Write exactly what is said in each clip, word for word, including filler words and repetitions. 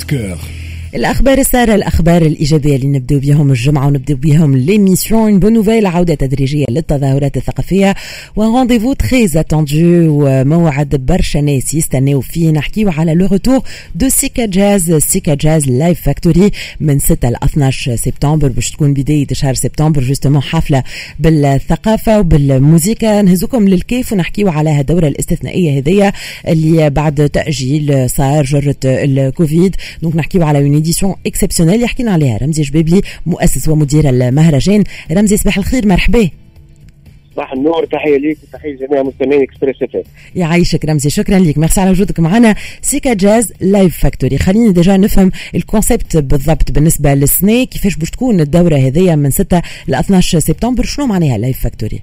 كور. الأخبار السارة، الأخبار الإيجابية اللي نبدأ بهم الجمعة ونبدأ بهم ليميسيون بون نوفيل، عودة تدريجية للتظاهرات الثقافية ورانديفو تريز اتاندو وموعد برشا ناس يستناو فيه. نحكيو على لو روتور دو سيكا جاز، سيكا جاز لايف فاكتوري من ستة ل اثناش سبتمبر، باش تكون بداية شهر سبتمبر جوستومون حفلة بالثقافة وبالموسيقى. نهزوكم للكيف ونحكيو على هالدورة الاستثنائية هذية اللي بعد تأجيل صار جرة الكوفيد. دونك نحكيو على إديسيون إكسبسيونيل يحكينا عليها رمزي جبيبلي مؤسس ومدير المهرجان. رمزي صباح الخير، مرحبا. صباح النور، تحية ليك وتحية جميع مستمعين إكسبريس إف إم. يعيشك رمزي، شكرا ليك، ميرسي على وجودك معنا. سيكا جاز لايف فاكتوري، خليني ديجا نفهم الكونسيبت بالضبط بالنسبة للسنة، كيفاش باش تكون الدورة هذه من ستة ل اثناش سبتمبر، شنو معناها لايف فاكتوري؟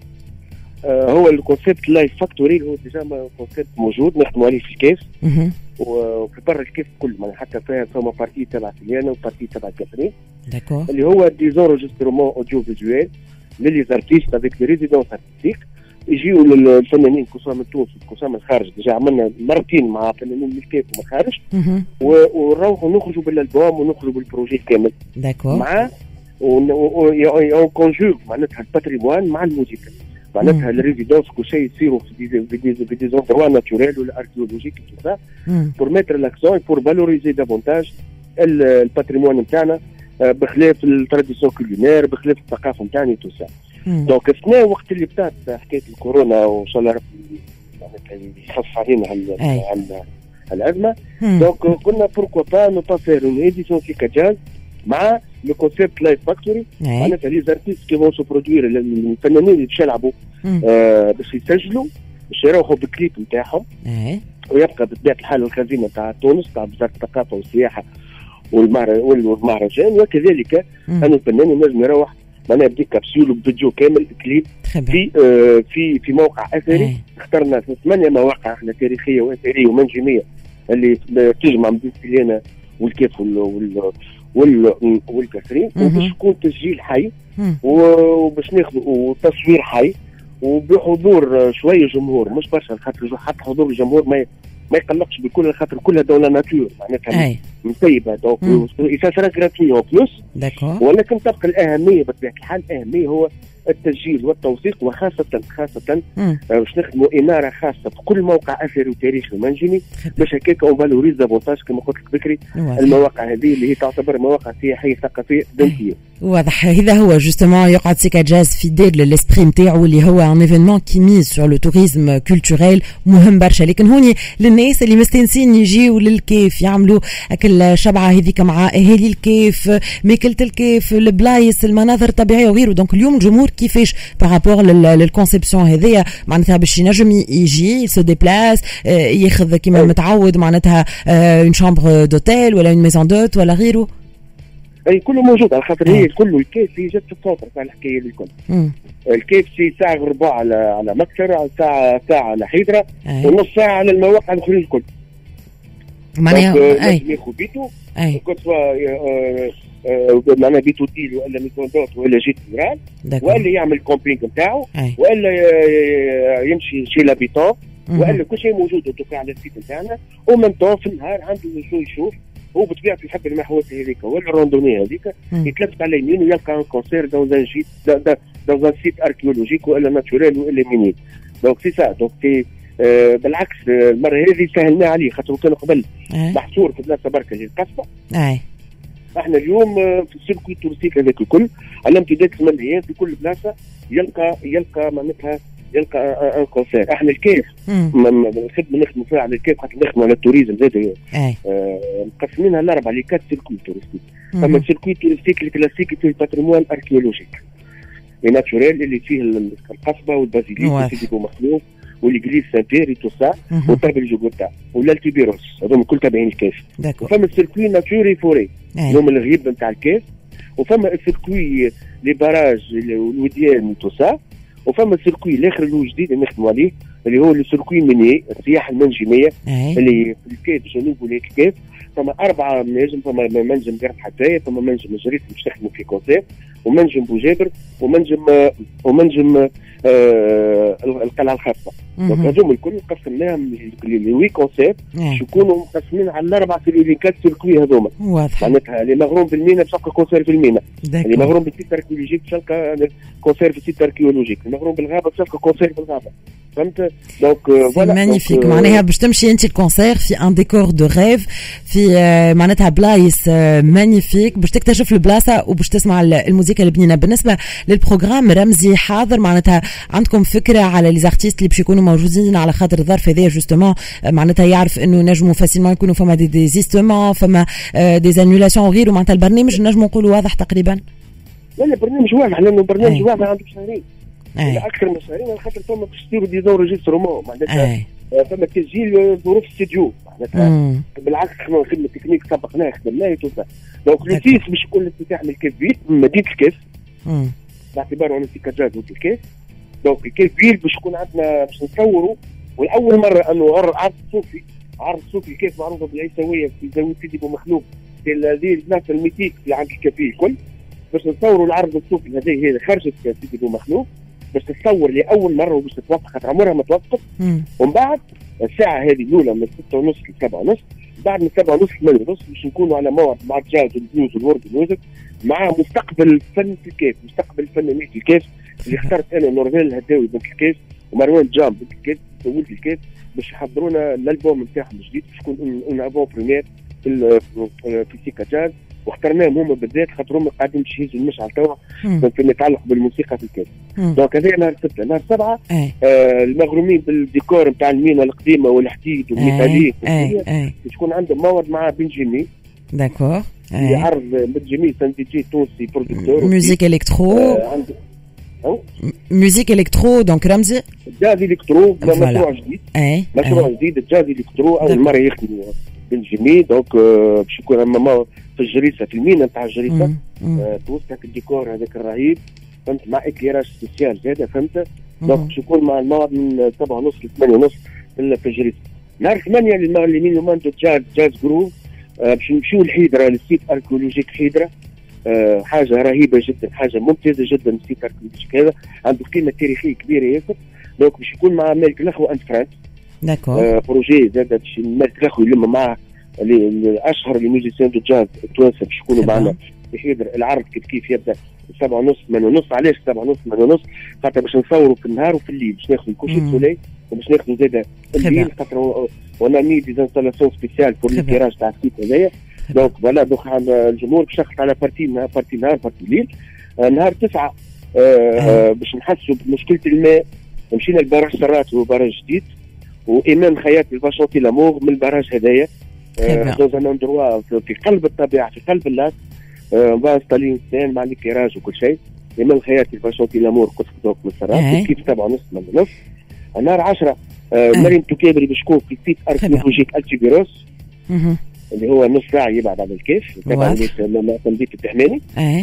آه هو الكونسيبت لايف فاكتوري هو ديجا كونسيبت موجود نخدموا عليه في الكيف وفي برا الكيف كل ما حتى فيها فما بارتي تبع سليانة وبارتي تبع كاترين داكور اللي هو ديزونجسترومون اوديو فيزوال للي زارتيست افيك لي ريزيدونس ارتستيك يجيو للفنانين كوسوا من تونس وكوسوا من الخارج. ديجا عملنا مرتين مع فنانين من الكيف ومن الخارج ونروحوا نخرجوا بالالبوم ونخرجوا بالبروجي كامل داكور مع اون كونجوغ معناتها الباتريموان مع الموسيقى معناتها الريزيدونس كل شيء يصيروا في دي زوندروا ناتوريل ولا اركيولوجيك تو سا بور ميتر لاكسون بور فالوريزي دافونتاج الباتريمون نتاعنا بخلاف التراديسيون كولينير بخلاف الثقافه نتاعنا تو سا. دونك السنه وقت اللي بدات حكايه الكورونا وان شاء الله ربي معناتها يخف علينا هال الازمه دونك قلنا بوركوا با نو با فير اون ايديسيون سيكا جاز مع لو كونسيبت لايف فاكتوري معناتها لي زارتيست كي فون سو برودوير الفنانين اللي باش يلعبوا آه باش يسجلوا باش يروحوا بالكليب نتاعهم ويبقى بطبيعه الحال الخزينه تاع تونس تاع وزاره الثقافه والسياحه والمهرجان وكذلك ان الفنان ينجم يروح معناها بدي كابسول وفيديو كامل كليب في آه في في موقع اثري. اخترنا ثمانيه مواقع احنا تاريخيه واثريه ومنجميه اللي تجمع بين سليانة والكيف وال وال والكثرين وباش يكون تسجيل حي وباش ناخذوا تصوير حي وبحضور شويه جمهور مش برشا خاطر حتى حضور الجمهور ما ما يقلقش بكل خاطر كلها دولة ناتور معناتها مسيبه دونك إذا سرا غراتوي اون بلوس ولكن تبقى الاهميه بطبيعه الحال الاهميه هو التسجيل والتوثيق وخاصه خاصه باش نخدموا اناره خاصه بكل موقع اثري وتاريخي ومنجمي باش هكاك اون فالوريز دافونتاج كما قلت لك بكري المواقع هذه اللي هي تعتبر مواقع سياحيه ثقافيه ذاتيه. واضح، هذا هو جوستومون يقعد سيكا جاز فيديل للاسبري نتاعو اللي هو ان ايفينمون كي ميز سور لو توريزم كولتوريل مهم برشا. لكن هوني للناس اللي مستنسين يجيو للكيف يعملوا اكل شبعه هذيك مع اهالي الكيف ماكله الكيف البلايص المناظر الطبيعيه وغيره، دونك اليوم الجمهور كيفاش بارابور للكونسيبسيون هذيا معناتها باش ينجم يجي سو ديبلاس ياخذ كيما متعود معناتها اون شامبر دوتيل ولا اون ميزون دوت ولا غيره؟ اي كله موجود على خاطر هي كله الكيف هي جت في السنتر تاع الحكايه اللي كل الكيف في ساعه وربع على على مكسر على ساعه ساعه على حيدره ونص ساعه على المواقع الاخرين الكل معناها اي ياخذ بيتو كنت معناها بيتو ديل ولا ميزون دوت ولا جيت رال ولا يعمل كومبينغ نتاعو ولا يمشي شي لابيتون ولا كل شيء موجود على السيت نتاعنا ومن طون في النهار عنده شو يشوف هو بطبيعته يحب المحوات هذيك ولا الروندوني هذيك يتلفت على يمين ويلقى ان كونسير دون ان جيت دون ان سيت اركيولوجيك ولا ناتوريل ولا ميني. دونك سي سا دونك سي آه بالعكس المره هذه سهلنا عليه خاطر كان قبل محصور في بلاصه بركه جي القصبه. اي احنا اليوم في السيركوي التورستيك هذاك الكل على امتداد ثمان ايام في كل بلاصه يلقى يلقى معناتها يلقى ان كونسير. احنا الكيف الخدمه نخدموا فيها على الكيف خاطر نخدموا على التوريزم زاد مقسمينها لاربعه لي كات سيركوي تورستيك. اما السيركوي التورستيك الكلاسيكي في الباتريمون اركيولوجيك ناتوريل اللي فيه القصبه والبازيليك وسيدي بومخلوف والإجليس سان بيير تو سا وطابل جوجوتا ولا التيبيروس هذوما كل تابعين الكيف. وفما السيركوي ناتوري فوري هما الغيب نتاع الكيف وفما السيركوي لي باراج والوديان تو سا وفما السيركوي الاخر اللي هو جديد اللي نخدموا عليه اللي هو السيركوي مني السياحه المنجميه اللي في الكيف جنوب ولايه الكيف فما اربعه نجم، فما منجم قرط حتى، فما منجم جريس باش نخدموا في كونسير، ومنجم بوجابر، ومنجم ومنجم آه القلعه الخاصه. دونك هذوما الكل قسمناهم لي وي كونسير باش يكونوا مقسمين على الاربع سيركوي سيركوي هذوما. معناتها اللي مغروم بالمينا باش تلقى كونسير في المينا، اللي مغروم بالسيت اركيولوجيك باش تلقى كونسير في السيت اركيولوجيك، اللي مغروم بالغابه باش تلقى كونسير في الغابه. فهمت؟ دونك فوالا مانيفيك. معناها باش تمشي انت الكونسير في ان ديكور دو ريف، في معناتها بلايص مانيفيك باش تكتشف البلاصه وباش تسمع الموسيقى البنينه. بالنسبه للبروغرام رمزي حاضر، معناتها عندكم فكره على لي زارتيست اللي باش يكونوا موجودين على خاطر الظرف هذا جوستومون معناتها يعرف انه نجموا فاسيلمون يكونوا فما دي ديزيستمون، فما دي زانيولاسيون وغيره. معناتها البرنامج نجموا نقولوا واضح تقريبا؟ لا لا برنامج واضح، لانه برنامج واضح عنده شهرين اكثر من شهرين، على خاطر فما باش يصيروا دي زونجسترومون، معناتها فما تسجيل ظروف الاستديو، معناتها بالعكس خدمه خدمه تكنيك سبقناها خدمناها توفى. دونك لوتيس باش يكون الافتتاح من الكافيل من مدينه الكاس باعتباره انه في كجاز في الكاس. دونك الكافيل باش يكون عندنا باش نصوروا، والاول مره انه عرض صوفي عرض صوفي الكاس معروفه بالعيسويه في زاويه سيدي بومخلوف في هذه البلاصه الميتيك اللي عند الكافيل الكل، باش نصوروا العرض الصوفي هذه هي خرجت سيدي بومخلوف باش تصور لاول مره وباش تتوقف، خاطر عمرها ما توقفت. ومن بعد الساعه هذه الاولى من ستة ونص ل سبعة ونص، بعد من سبعة ونص ل ثمانية ونص باش نكونوا على موعد مع الجاز والبلوز والورد والموزك، مع مستقبل الفن في الكاس، مستقبل الفنانين في الكاس اللي اخترت انا نورفيل الهداوي بنت الكاس ومروان جام بنت الكاس ولد الكاس باش يحضرونا الالبوم نتاعهم الجديد باش تكون اون افون بريمير في في سيكا جاز. واخترناهم هما بالذات خاطر هما قاعدين باش يهزوا المشعل توا فيما يتعلق بالموسيقى في الكاس. دونك هذا نهار ستة. نهار سبعة آه المغرومين بالديكور نتاع المينا القديمه والحديد والميتاليك باش يكون عندهم موعد مع بنجيمي. داكور. يعرض بنجيمي سان دي جي تونسي برودكتور ميوزيك الكترو. آه ميوزيك الكترو. دونك رمزي جاز الكترو مشروع جديد. مشروع جديد الجاز الكترو اول مره يخدموا بنجيمي. دونك آه باش يكون اما في الجريسه في المينا نتاع الجريسه آه توسعك الديكور هذاك الرهيب، فهمت، مع اكليراج سبيسيال زاده، فهمت. دونك باش يكون مع الموعد من سبعة ونص ل ثمانية ونص في الجريسه. نهار ثمانية اللي مين مومنتو جاز جاز جروف آه باش نمشيو لحيدره للسيت اركيولوجيك حيدره. آه حاجه رهيبه جدا، حاجه ممتازه جدا. السيت اركيولوجيك هذا عنده قيمه تاريخيه كبيره ياسر. دونك باش يكون مع مالك الاخوه اند فرانس. داكور. آه بروجي زاده باش مالك الاخوه يلم معاه الاشهر لي ميوزيسيان دو جاز التوانسه باش يكونوا معنا في حيدر. العرض كيف كيف يبدا سبعة ونص ثمانية ونص. علاش سبعة ونص ثمانية ونص؟ خاطر باش نصوروا في النهار وفي الليل، باش ناخذوا الكوشي سولي وباش ناخذوا زاده الليل، خاطر وانا مي دي انستالاسيون سبيسيال بور ليكيراج تاع السيت هذايا. دونك فوالا دوك الجمهور باش يخلط على بارتي نهار بارتي نهار بارتي الليل. آه نهار تسعة آه آه باش نحسوا بمشكله الماء، مشينا لبراج سرات وبراج جديد، وايمان خياطي الفاشونتي لامور من البراج هذايا دوز ان اندروا في قلب الطبيعه في قلب اللاك. بانستالين ستان مع الكيراج وكل شيء. ايمان خياطي الفاشونتي لامور قلت دوك من سرات كيف سبعة ونص ثمانية ونص. نهار عشرة مريم توكابري باش تكون في السيت اركيولوجيك التيبيروس اللي هو نص ساعه يبعد على الكيف تبع تنظيف التحماني.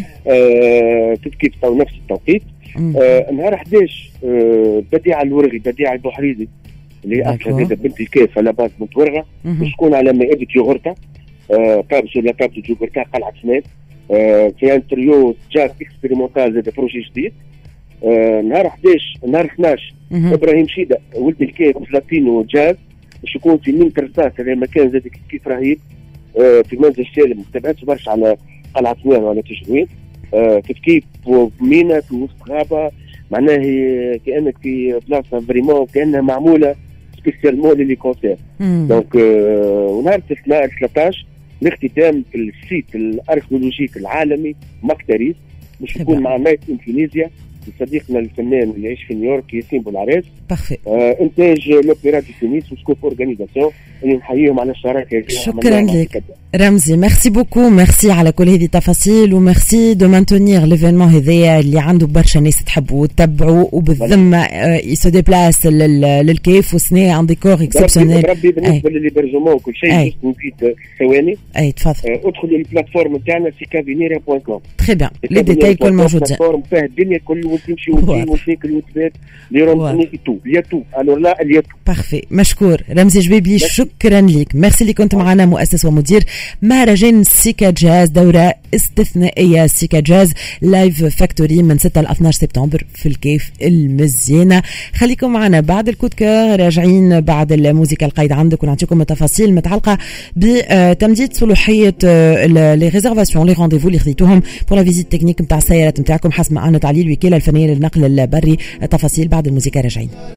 كيف كيف نفس التوقيت. نهار احداش بديعه الورغي بديعه البحريزي اللي اصلا هذا بنت الكيف على باز بنت ورغه باش تكون على مائده يوغورتا تاب سور لا تاب دو يوغورتا قلعه سنان في ان تريو جاز اكسبيريمونتال زاد بروجي جديد. نهار احداش نهار اثناش ابراهيم شيده ولد الكيف لاتينو جاز باش يكون في مين كرساس هذا مكان زاد كيف رهيب في منزل سالم. ما تبعدش برشا على قلعه سنان ولا تجويد كيف كيف مينا في وسط غابه، معناه كانك في بلاصه فريمون كانها معموله سبيسيالمون لي كونسير. دونك ونهار ثلاثطاش الاختتام في السيت الاركيولوجيك العالمي ماكتاريس باش يكون مع نايت انفينيزيا صديقنا الفنان اللي يعيش في نيويورك ياسين بولعريس. آه انتاج لوبيرا دي تونس وسكوب اورغانيزاسيون اللي نحييهم على الشراكه. شكرا لك رمزي، ميرسي بوكو، ميرسي على كل هذه التفاصيل، وميرسي دو مانتونير ليفينمون هذايا اللي عنده برشا ناس تحبوا وتتبعوا وبالذمه يسو ديبلاس للكيف وسني ان ديكور اكسبسيونيل. ربي بالنسبه لليبرجمون وكل شيء جست نفيد ثواني. اي تفضل. ادخلوا البلاتفورم تاعنا سيكافينيريا بوان كوم. تري بيان، لي ديتاي كل موجودين. بلاتفورم فيها الدنيا كل وتمشي وتجي وتاكل وتبات لي روندوني تو الياتو الو لا الياتو. بارفي، مشكور رمزي جبيبلي، شكرا لك، ميرسي اللي كنت معنا، مؤسس ومدير مهرجان سيكا جاز، دورة استثنائية سيكا جاز لايف فاكتوري من ستة ل اثناشر سبتمبر في الكيف المزيانة. خليكم معنا بعد الكودكار، راجعين بعد الموسيقى القايد عندك ونعطيكم التفاصيل متعلقة بتمديد صلاحية لي ريزيرفاسيون لي رونديفو اللي خديتوهم بور لا فيزيت تكنيك نتاع السيارات نتاعكم حسب ما اعلنت عليه الوكالة الفنية للنقل البري. التفاصيل بعد الموسيقى راجعين.